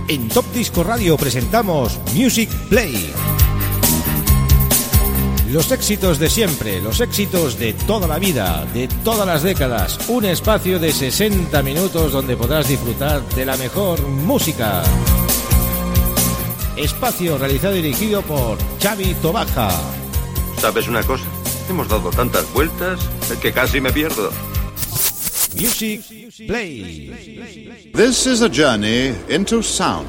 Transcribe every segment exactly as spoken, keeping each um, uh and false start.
En Top Disco Radio presentamos Music Play. Los éxitos de siempre, los éxitos de toda la vida, de todas las décadas. Un espacio de sesenta minutos donde podrás disfrutar de la mejor música. Espacio realizado y dirigido por Xavi Tobaja. ¿Sabes una cosa? Hemos dado tantas vueltas que casi me pierdo. Music Play. This is a journey into sound.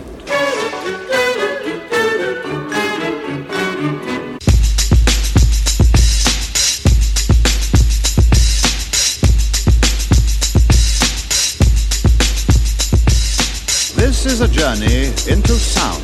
This is a journey into sound.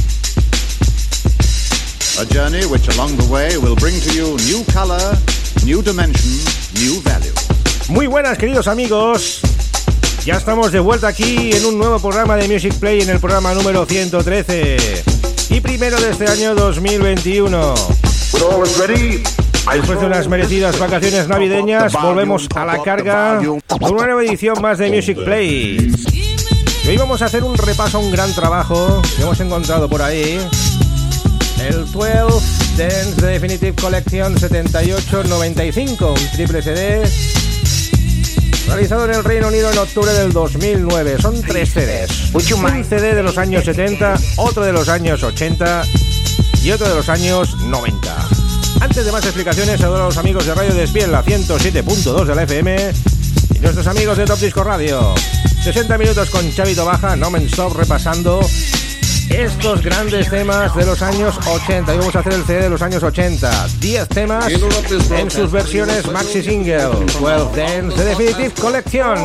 A journey which along the way will bring to you new color, new dimension, new value. Muy buenas, queridos amigos. Ya estamos de vuelta aquí en un nuevo programa de Music Play, en el programa número ciento trece y primero de este año dos mil veintiuno. Después de unas merecidas vacaciones navideñas, volvemos a la carga con una nueva edición más de Music Play. Y hoy vamos a hacer un repaso a un gran trabajo que hemos encontrado por ahí. El doce Dance The Definitive Collection setenta y ocho noventa y cinco, un triple C D realizado en el Reino Unido en octubre del dos mil nueve. Son tres C Ds. Un C D de los años setenta, otro de los años ochenta y otro de los años noventa. Antes de más explicaciones, saludo a los amigos de Radio Despiel, la ciento siete punto dos de la F M, y nuestros amigos de Top Disco Radio. sesenta minutos con Xavi Tobaja, no me stop, repasando estos grandes temas de los años ochenta. Y vamos a hacer el C D de los años ochenta. diez temas en sus versiones maxi single. doce Dance The Definitive Collection.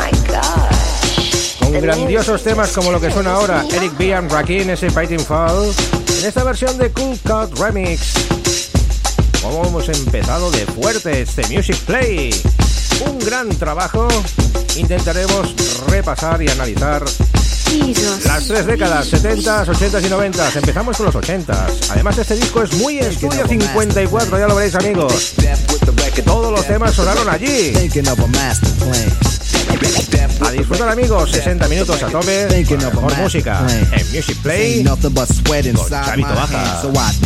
Con grandiosos temas como lo que suena ahora Eric B. and Rakim, ese Fighting Fall, en esta versión de Cool Cut Remix. Como hemos empezado de fuerte este Music Play. Un gran trabajo. Intentaremos repasar y analizar las tres décadas, setentas, ochentas y noventas. Empezamos con los ochentas. Además, este disco es muy estudio cincuenta y cuatro, ya lo veréis, amigos. Todos los temas sonaron allí. A disfrutar, amigos, sesenta minutos a tope con la mejor música en Music Play con Xavi Tobaja.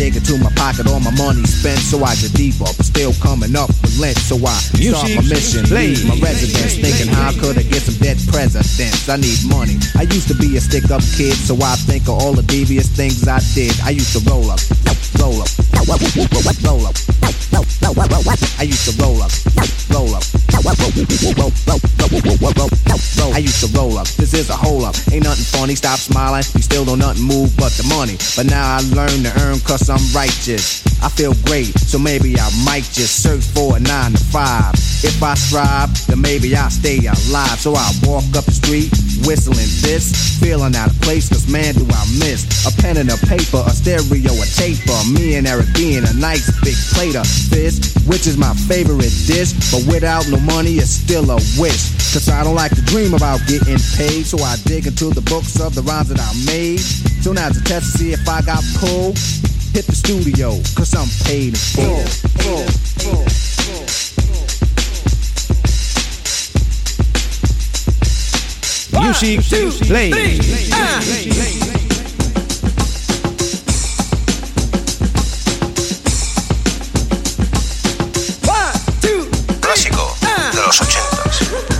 Music Play. My residence thinking how could I get some dead presidents? I need money. I used to be a stick-up kid, so I think of all the devious things I did. I used to roll up, roll up, roll up, roll up. I used to roll up, roll up, roll up. I used to roll up. This is a hole up. Ain't nothing funny. Stop smiling. We still don't nothing move but the money. But now I learn to earn cause I'm righteous. I feel great, so maybe I might just search for a nine to five. If I strive, then maybe I'll stay alive. So I walk up the street, whistling this, feeling out of place, cause man do I miss a pen and a paper, a stereo, a taper. Me and Eric being a nice big plate of fish, which is my favorite dish. But without no money, it's still a wish. Cause I don't like to dream about getting paid, so I dig into the books of the rhymes that I made. So now to test to see if I got pulled, hit the studio, cause I'm paid in full. full, full, full. Music Play. Clásico de los ochentas.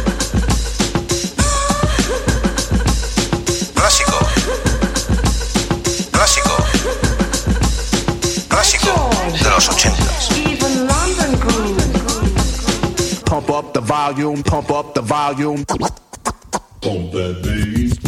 Clásico. Clásico. Clásico de los ochentas. Pump up the volume, pump up the volume. Pump that bass.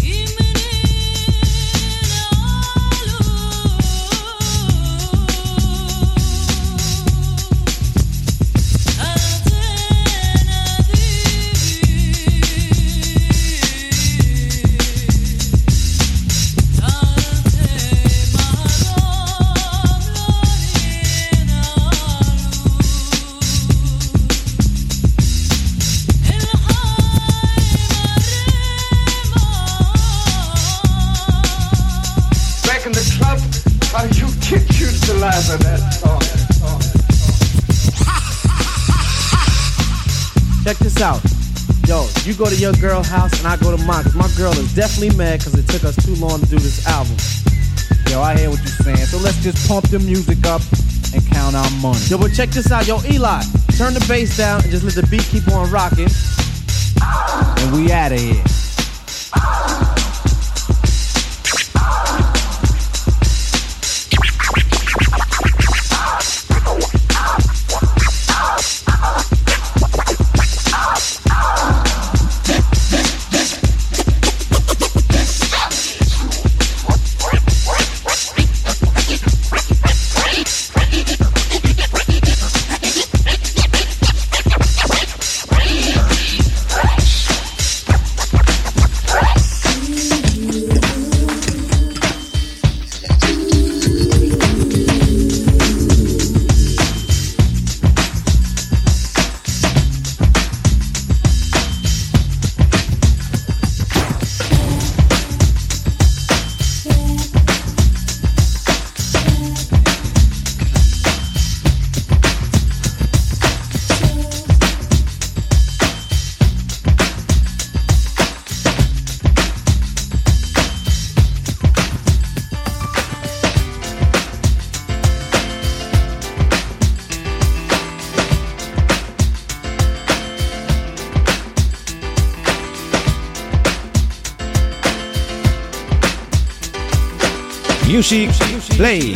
Check this out. Yo, you go to your girl house and I go to mine, cause my girl is definitely mad cause it took us too long to do this album. Yo, I hear what you're saying, so let's just pump the music up and count our money. Yo, but check this out, yo, Eli, turn the bass down and just let the beat keep on rocking. And we outta here. Music Play.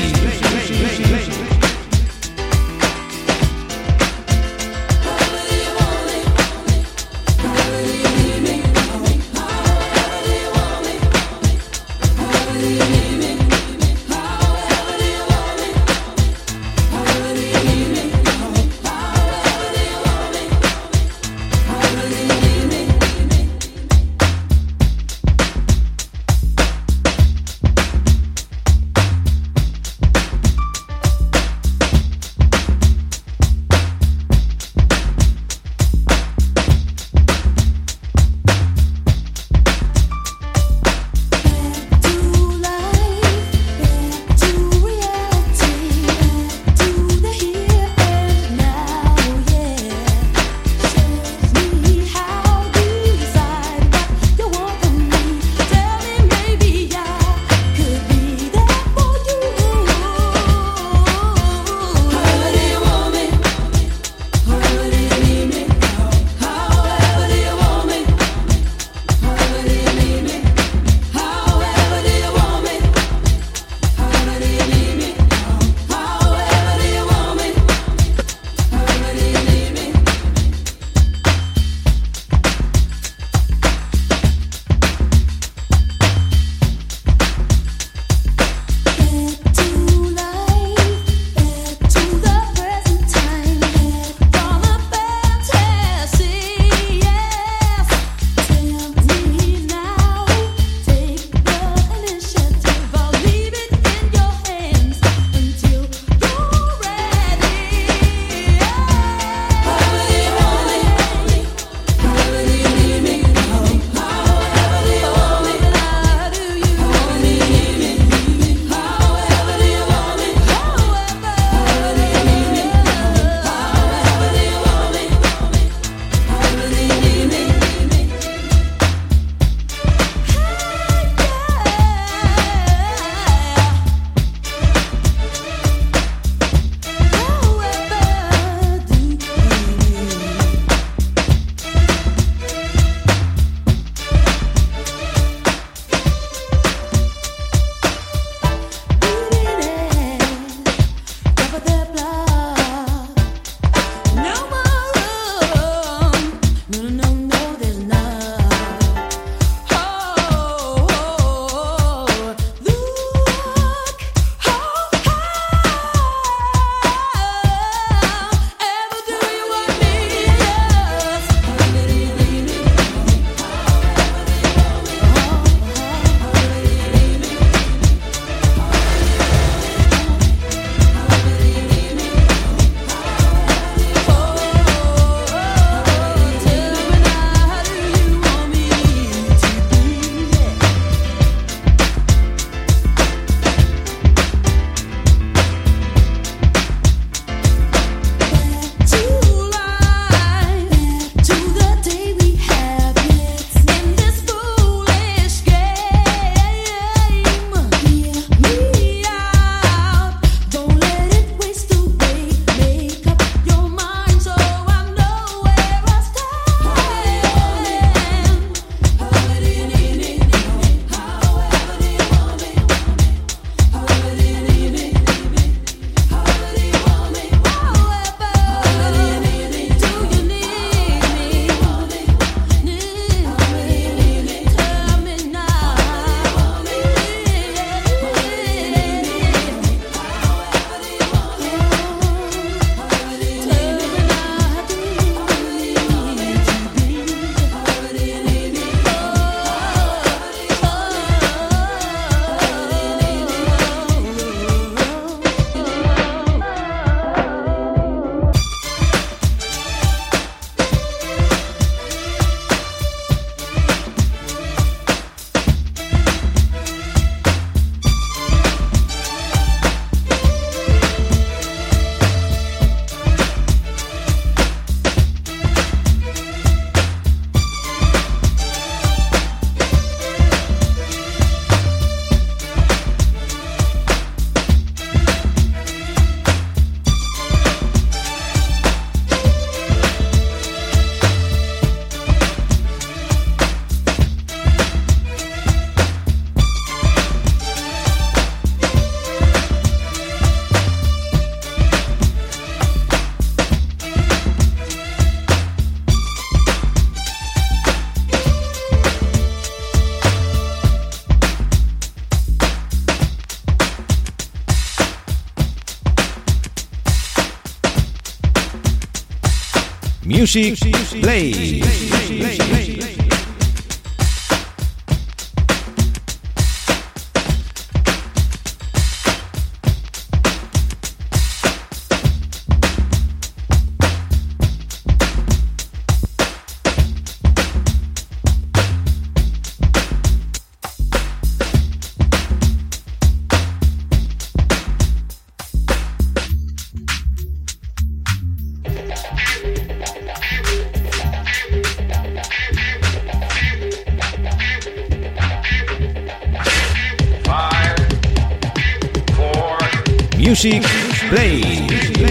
Music Play. Music Play.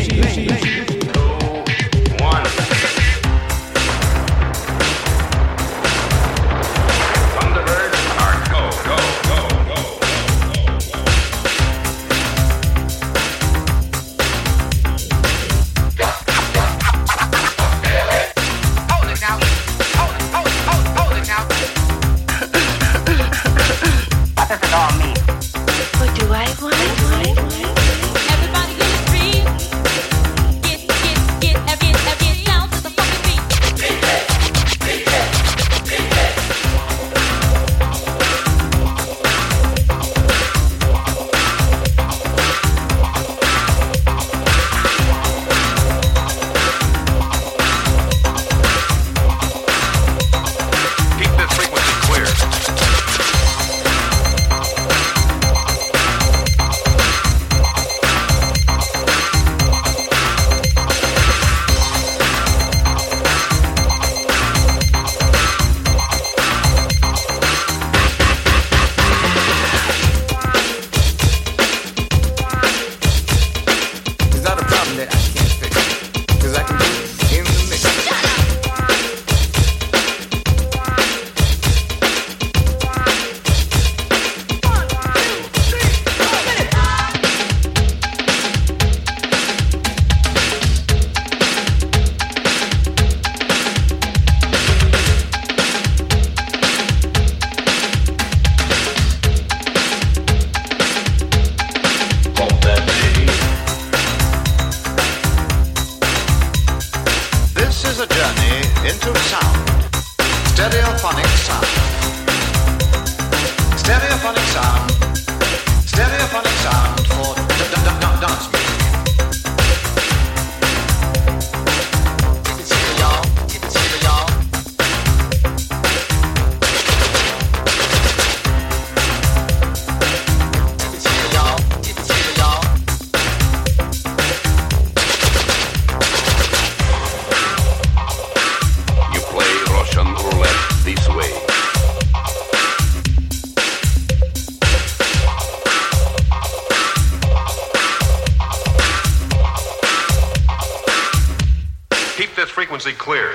Frequency clear.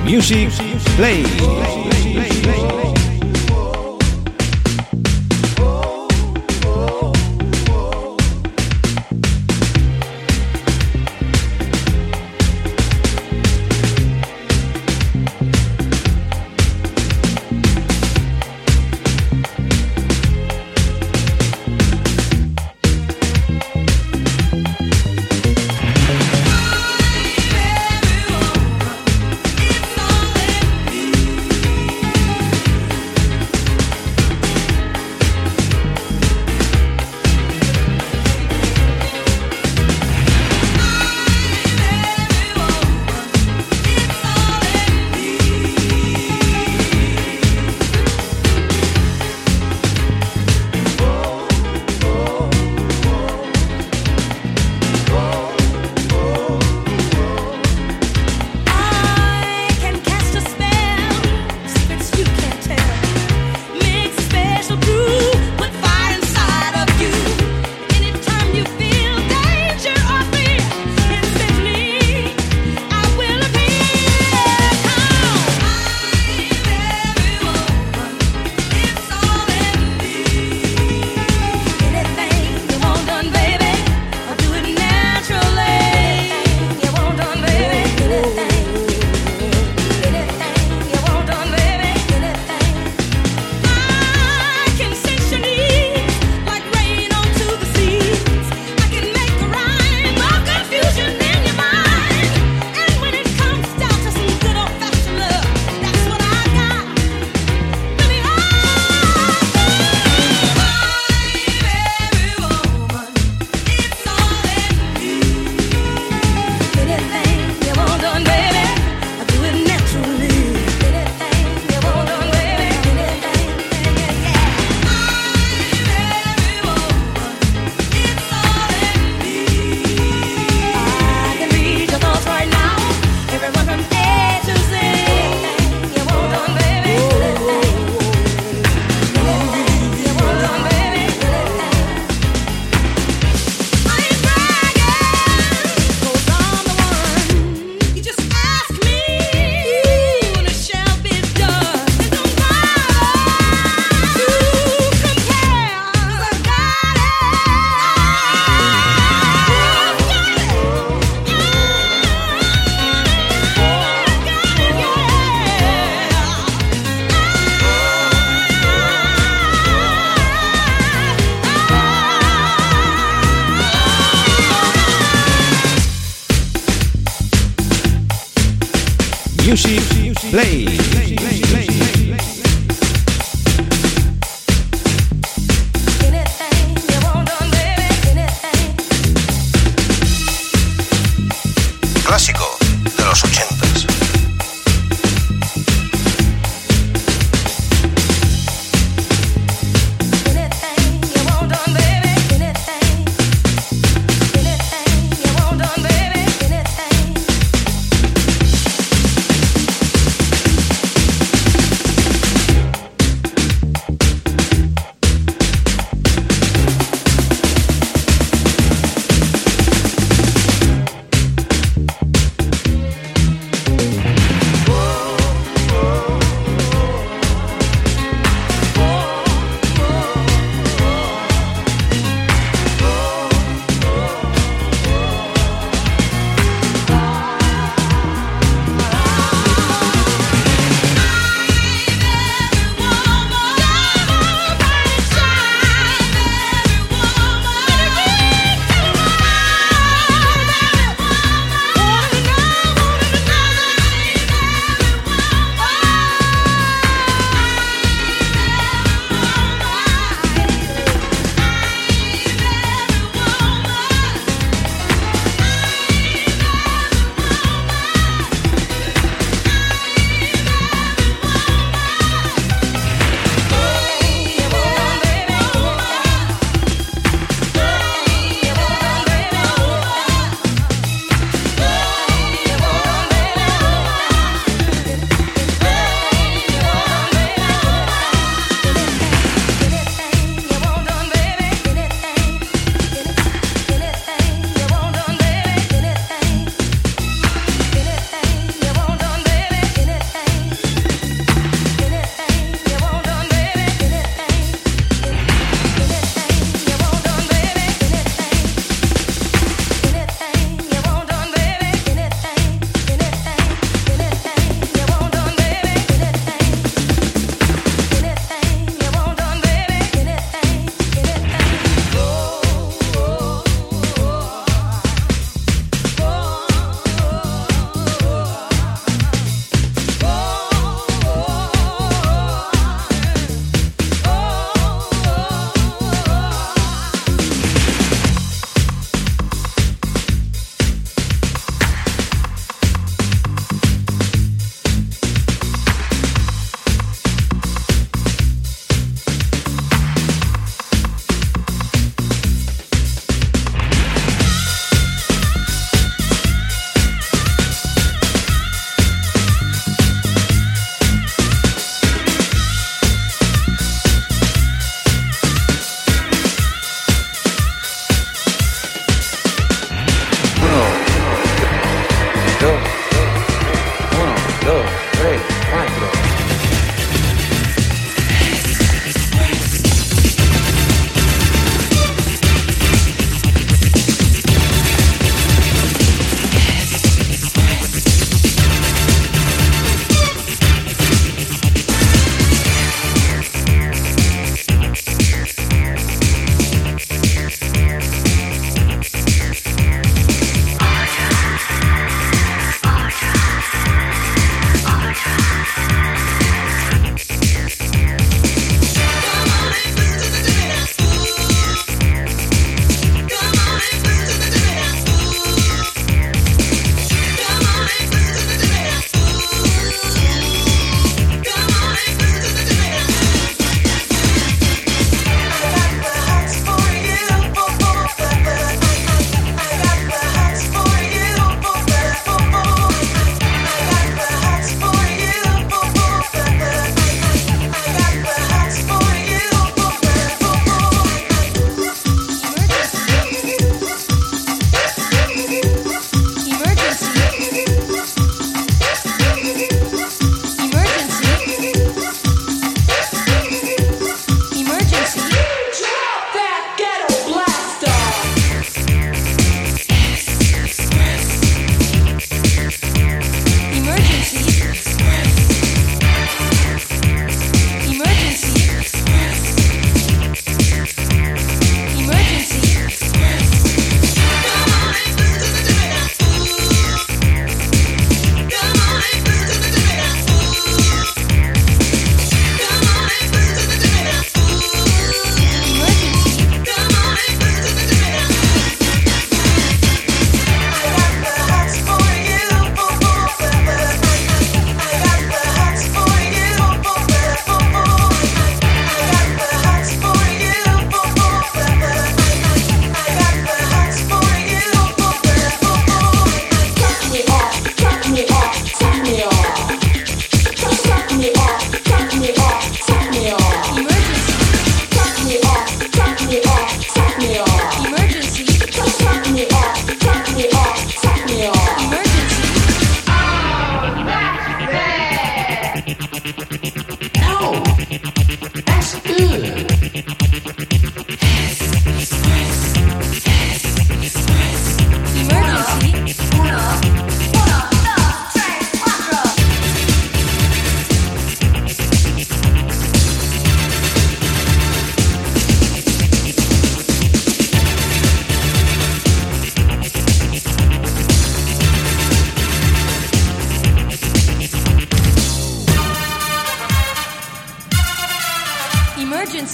Music Play. Music Play. Clásico de los ochentas.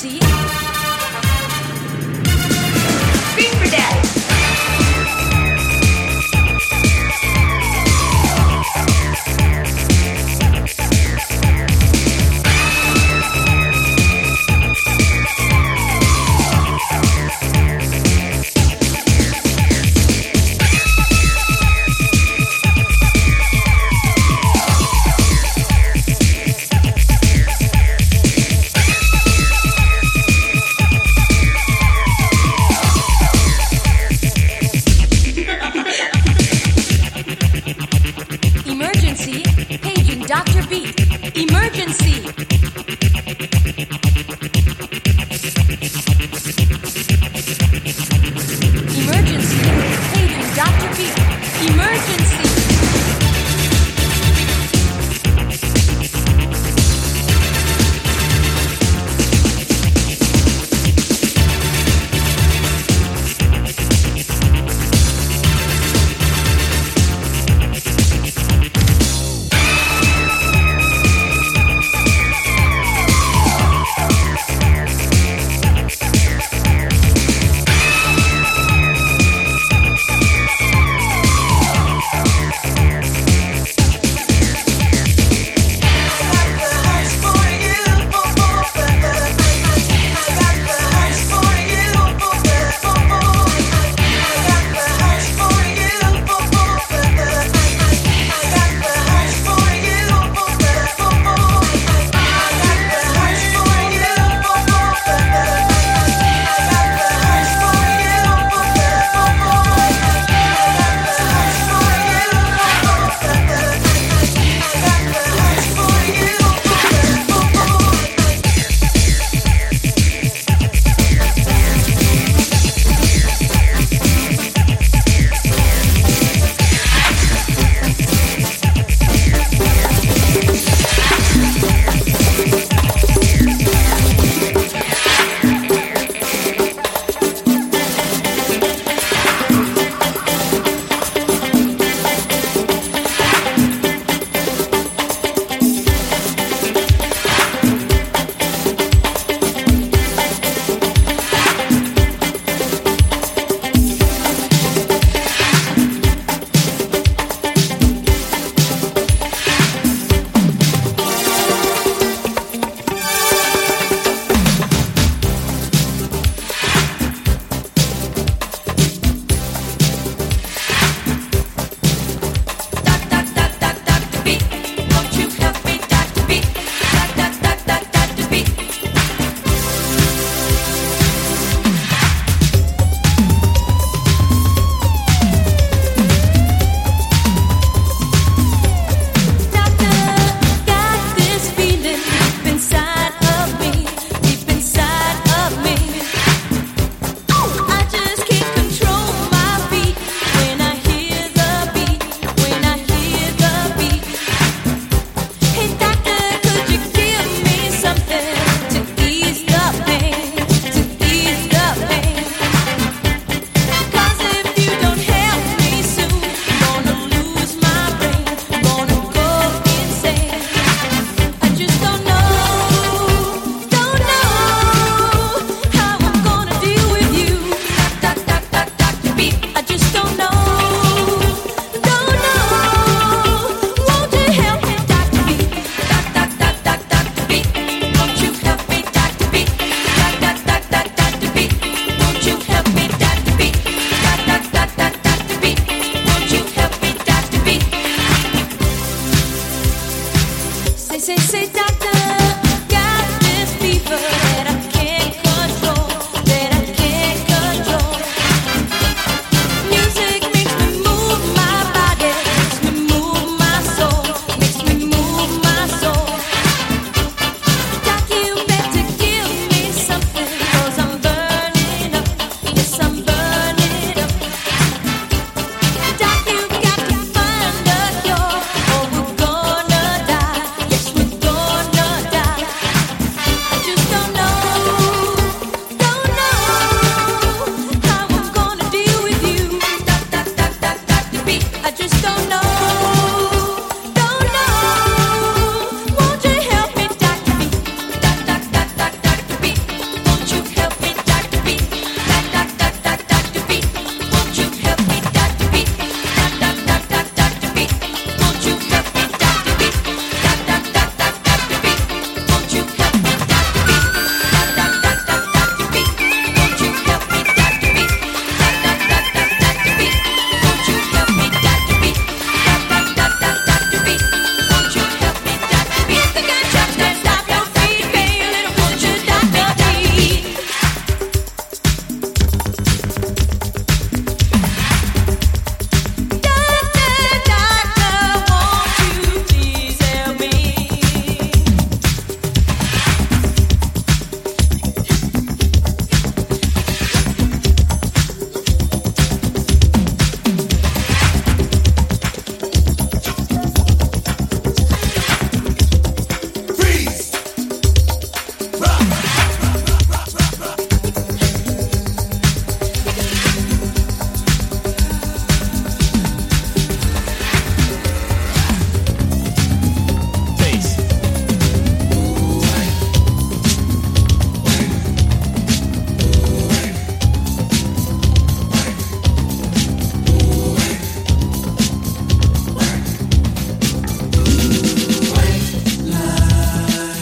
Emergency. Scream for daddy. Emergency, paging Doctor B. Emergency. Emergency, paging Doctor B. Emergency. Door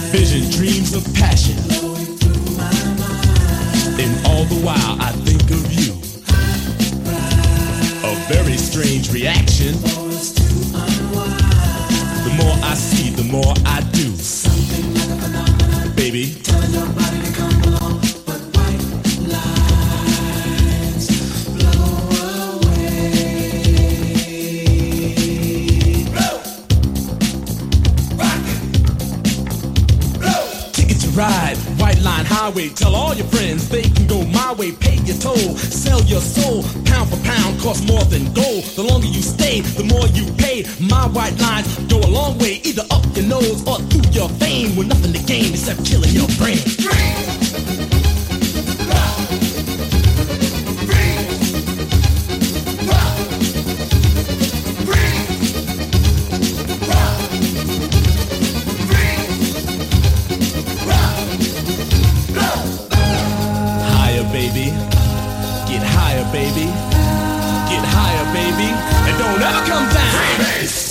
Vision, dreams of passion. And all the while I think of you. A very strange reaction. The more I see, the more I do. Baby, telling your body to come along, but white lines blow away. Blow, rock it, blow. Ticket to ride, White Line Highway. Tell all your friends they can go my way. Pay your toll, sell your soul. Pound for pound, cost more than gold. The longer you stay, the more you pay. My white lines go a long way, either up your nose or through your vein, with nothing to gain except killing your brain. Higher, baby. Get higher, baby. Get higher, baby. And don't ever come down. Freebase.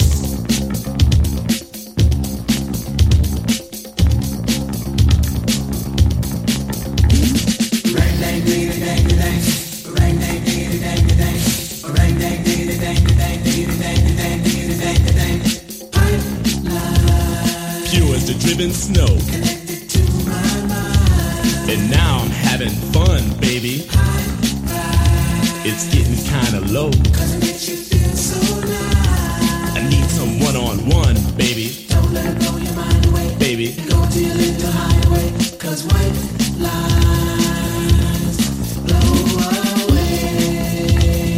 Pure as the driven snow. And now I'm having fun, baby. It's getting kinda low. I need some one-on-one, baby. Don't let it blow your mind away. Baby. Go till it the highway. Cause white lines blow away.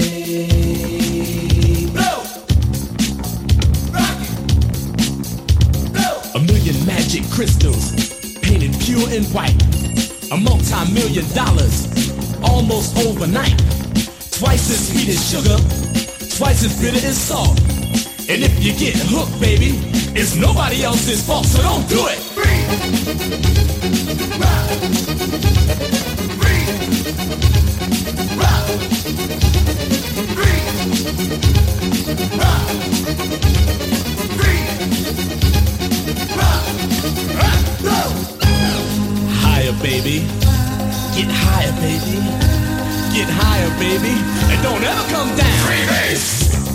Blow! Rock it! Blow! A million magic crystals painted pure and white. A multi-million dollars almost overnight. Twice as sweet as sugar, twice as bitter as salt. And if you get hooked, baby, it's nobody else's fault, so don't do it. Breathe. Rock. Breathe. Rock. Breathe. Rock. Breathe. Rock. Rock. Go. Higher, baby. Get higher, baby. Get higher, baby, and don't ever come down. Freebase.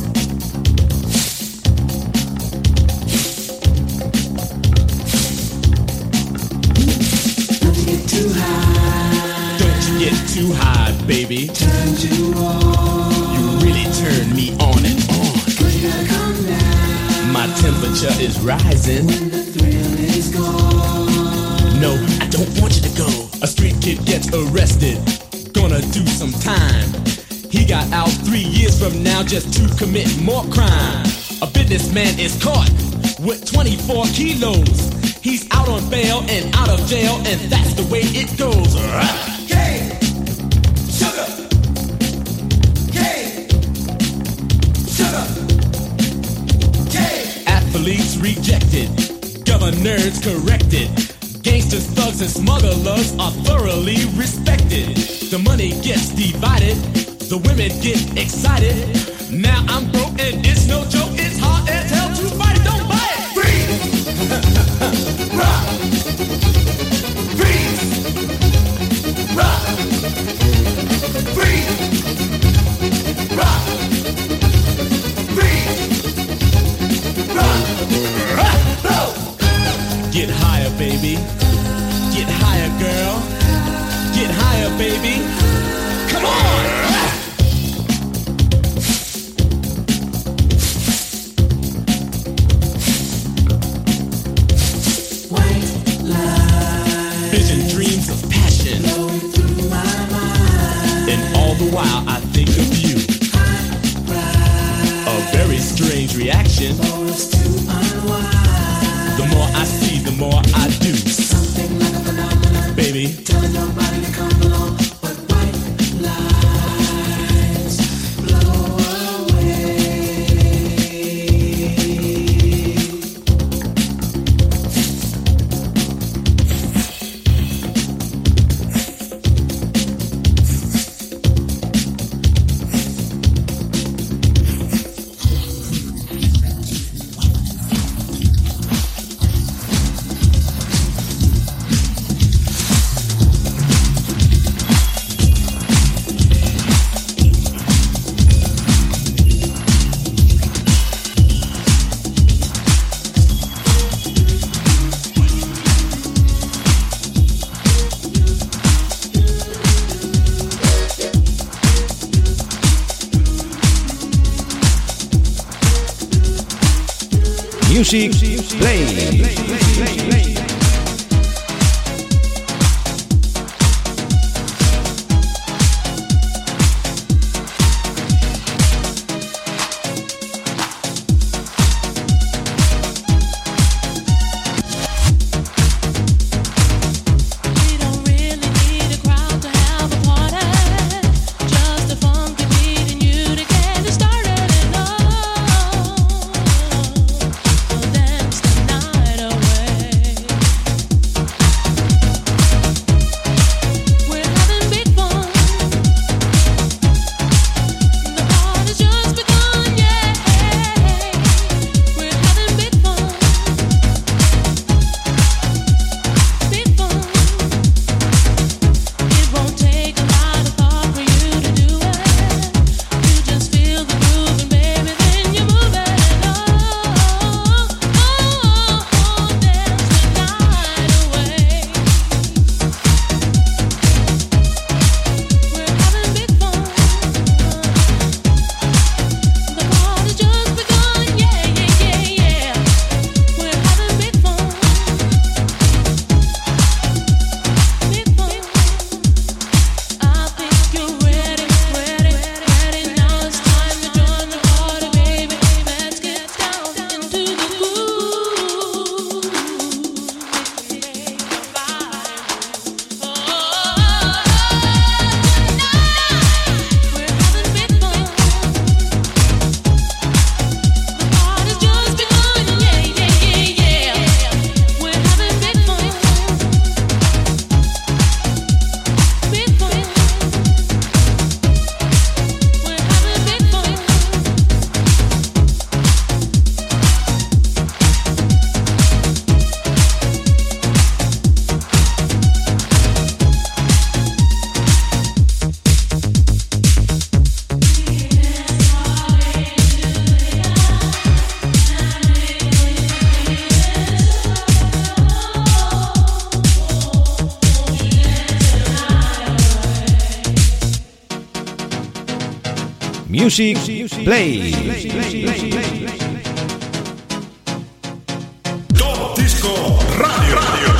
Don't you get too high. Don't you get too high, baby. Turn you on. You really turn me on and on. Cause you gotta come down. My temperature is rising. When the thrill is gone. No, I don't want you to go. A street kid gets arrested. Gonna do some time. He got out three years from now just to commit more crime. A businessman is caught with twenty-four kilos. He's out on bail and out of jail, and that's the way it goes. Cane, sugar, cane, sugar, cane. Athletes rejected, governors corrected. Gangsters, thugs, and smugglers are thoroughly respected. The money gets divided, the women get excited. Now I'm broke and it's no joke, it's hard as hell to fight it, don't buy it! Freeze! Rock! Freeze! Rock! Freeze! Rock! Freeze! Rock! Rock! Rock! Get higher, baby. Get higher, girl. Get higher, baby. Come on! White line. Vision, dreams of passion. Flowing through my mind. And all the while I think of you. A very strange reaction. For us to unwind. The more I see, the more I do. Something like a phenomenon. Baby. Telling your body to come along. But white lines blow away. Music Play. Music Play. Top Disco Radio. Radio.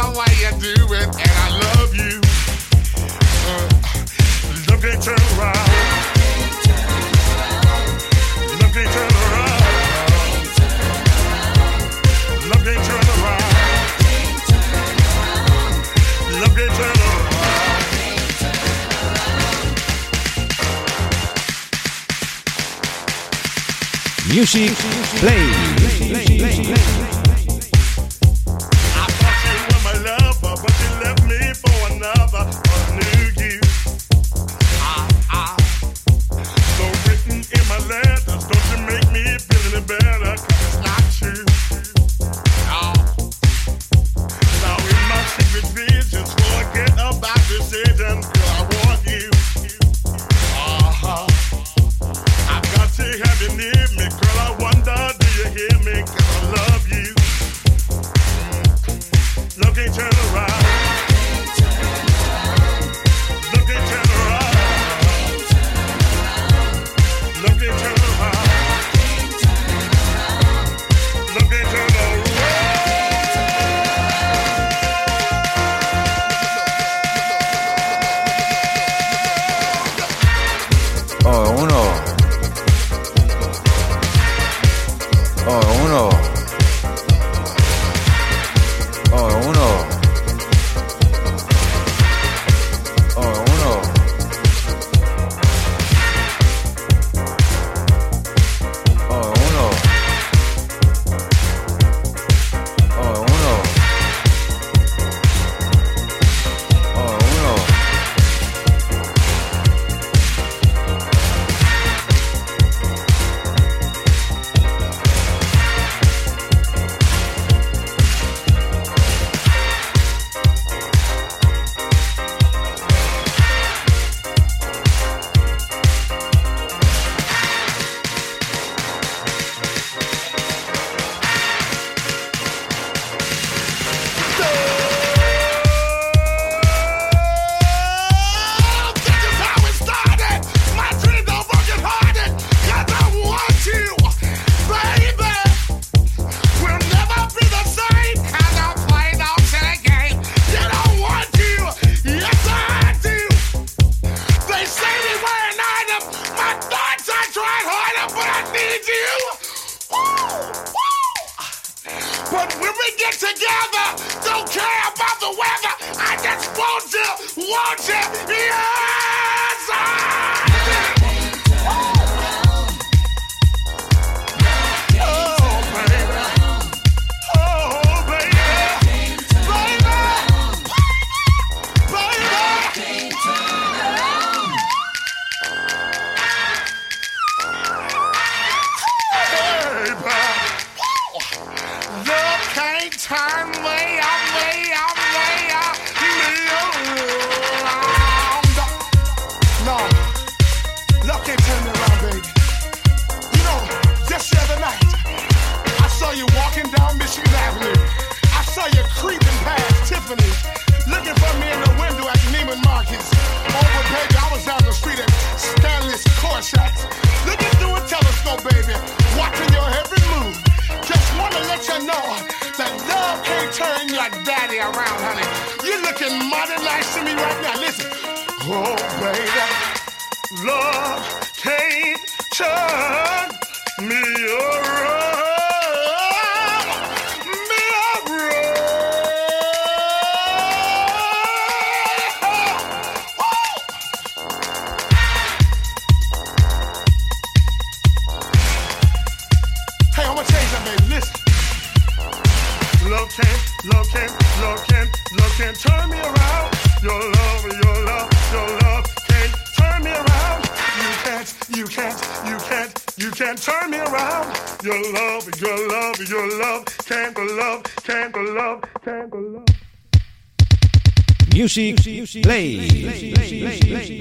the way you do it, and I love you. Uh, love can't turn around. Love can't turn around. Love can't turn around. Love can't turn around. Music Play. I thought you were my lover, but you left me for another, a new you. Ah, ah. So written in my letters, don't you make me feel any better, 'cause it's not true. Oh. Now in my secret visions, forget about decisions, 'cause I want you. Uh-huh. I've got to have you near me, girl, I wonder, do you hear me, 'cause I love you. Love can't turn around. Love can't turn around. Love can't turn around. Love can't turn around. Oh, uno. Oh, uno. Oh, uno. Oh, uno. Oh, uno. Oh, uno. Oh, uno. Music Play.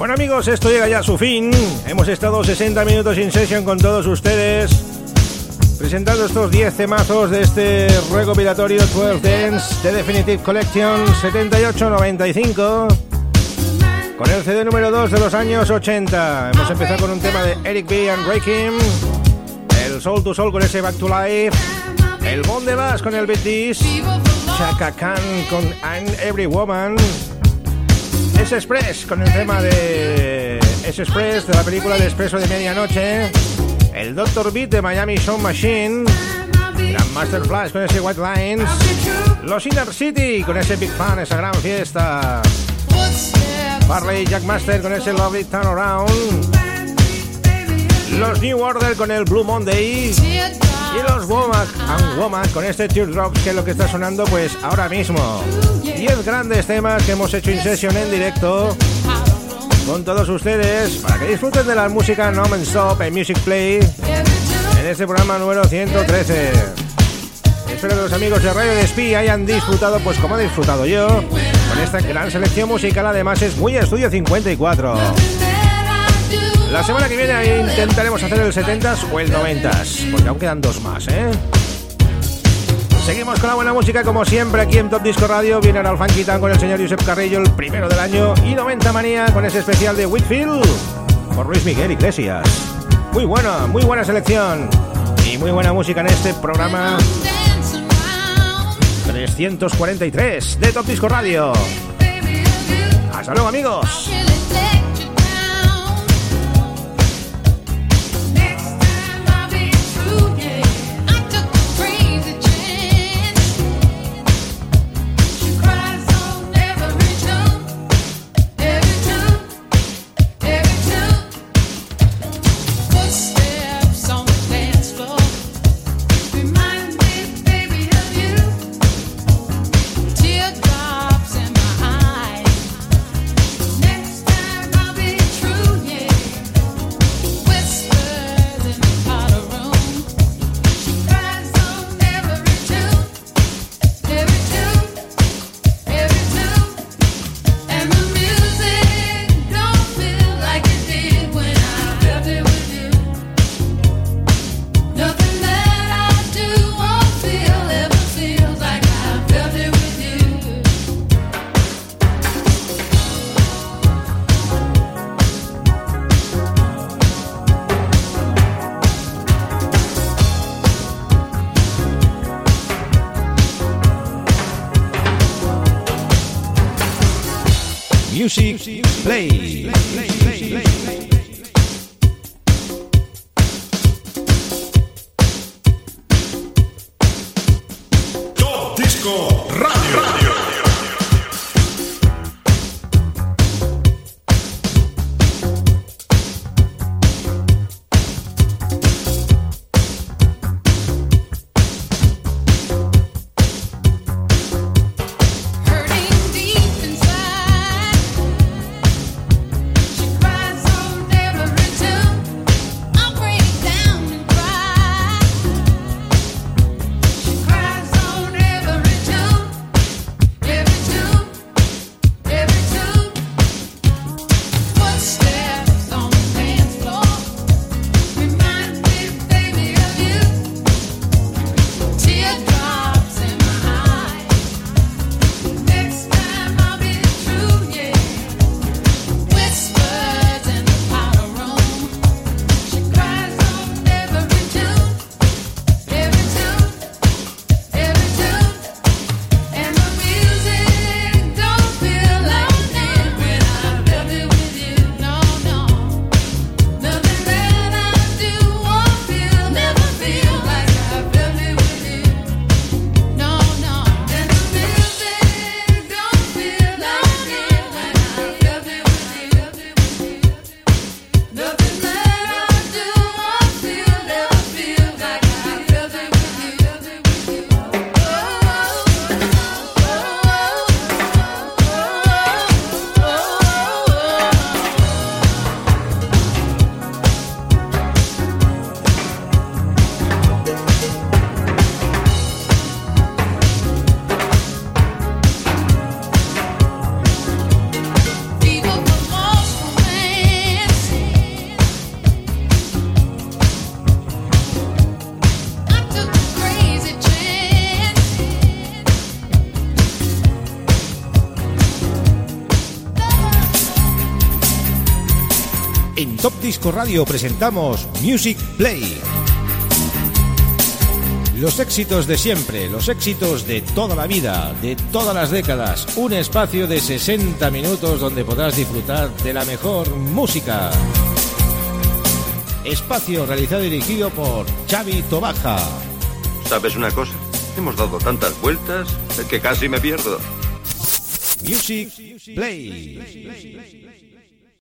Bueno amigos, esto llega ya a su fin. Hemos estado sesenta minutos in session con todos ustedes, presentando estos diez temazos de este recopilatorio doce Dance The Definitive Collection setenta y ocho noventa y cinco, con el C D número dos de los años ochenta. Hemos empezado con un tema de Eric B. and Rakim, el Soul to Soul con ese Back to Life, el Bon de Bass con el Beat This, Chaka Khan con I'm Every Woman, S-Express con el tema de S-Express de la película de Expreso de Medianoche, el doctor Beat de Miami Sound Machine, Grandmaster Flash con ese White Lines, los Inner City con ese Big Fan, esa gran fiesta, Farley Jackmaster con ese Lovely Turnaround, los New Order con el Blue Monday y los Womack and Womack con este Teardrops, que es lo que está sonando pues ahora mismo. diez grandes temas que hemos hecho in session en directo con todos ustedes para que disfruten de la música non-stop en Music Play en este programa número ciento trece. Espero que los amigos de Radio Despí hayan disfrutado pues como he disfrutado yo con esta gran selección musical. Además es muy Estudio cincuenta y cuatro. La semana que viene intentaremos hacer el setentas o el noventas, porque aún quedan dos más, ¿eh? Seguimos con la buena música como siempre aquí en Top Disco Radio. Viene ahora el Funky Town con el señor Josep Carrillo, el primero del año, y noventa Manía con ese especial de Whitfield por Luis Miguel Iglesias. Muy buena, muy buena selección y muy buena música en este programa trescientos cuarenta y tres de Top Disco Radio. Hasta luego amigos. Music Play. Top Disco Radio. Radio. Hurting deep inside. Disco Radio presentamos Music Play. Los éxitos de siempre, los éxitos de toda la vida, de todas las décadas. Un espacio de sesenta minutos donde podrás disfrutar de la mejor música. Espacio realizado y dirigido por Xavi Tobaja. ¿Sabes una cosa? Hemos dado tantas vueltas que casi me pierdo. Music Play.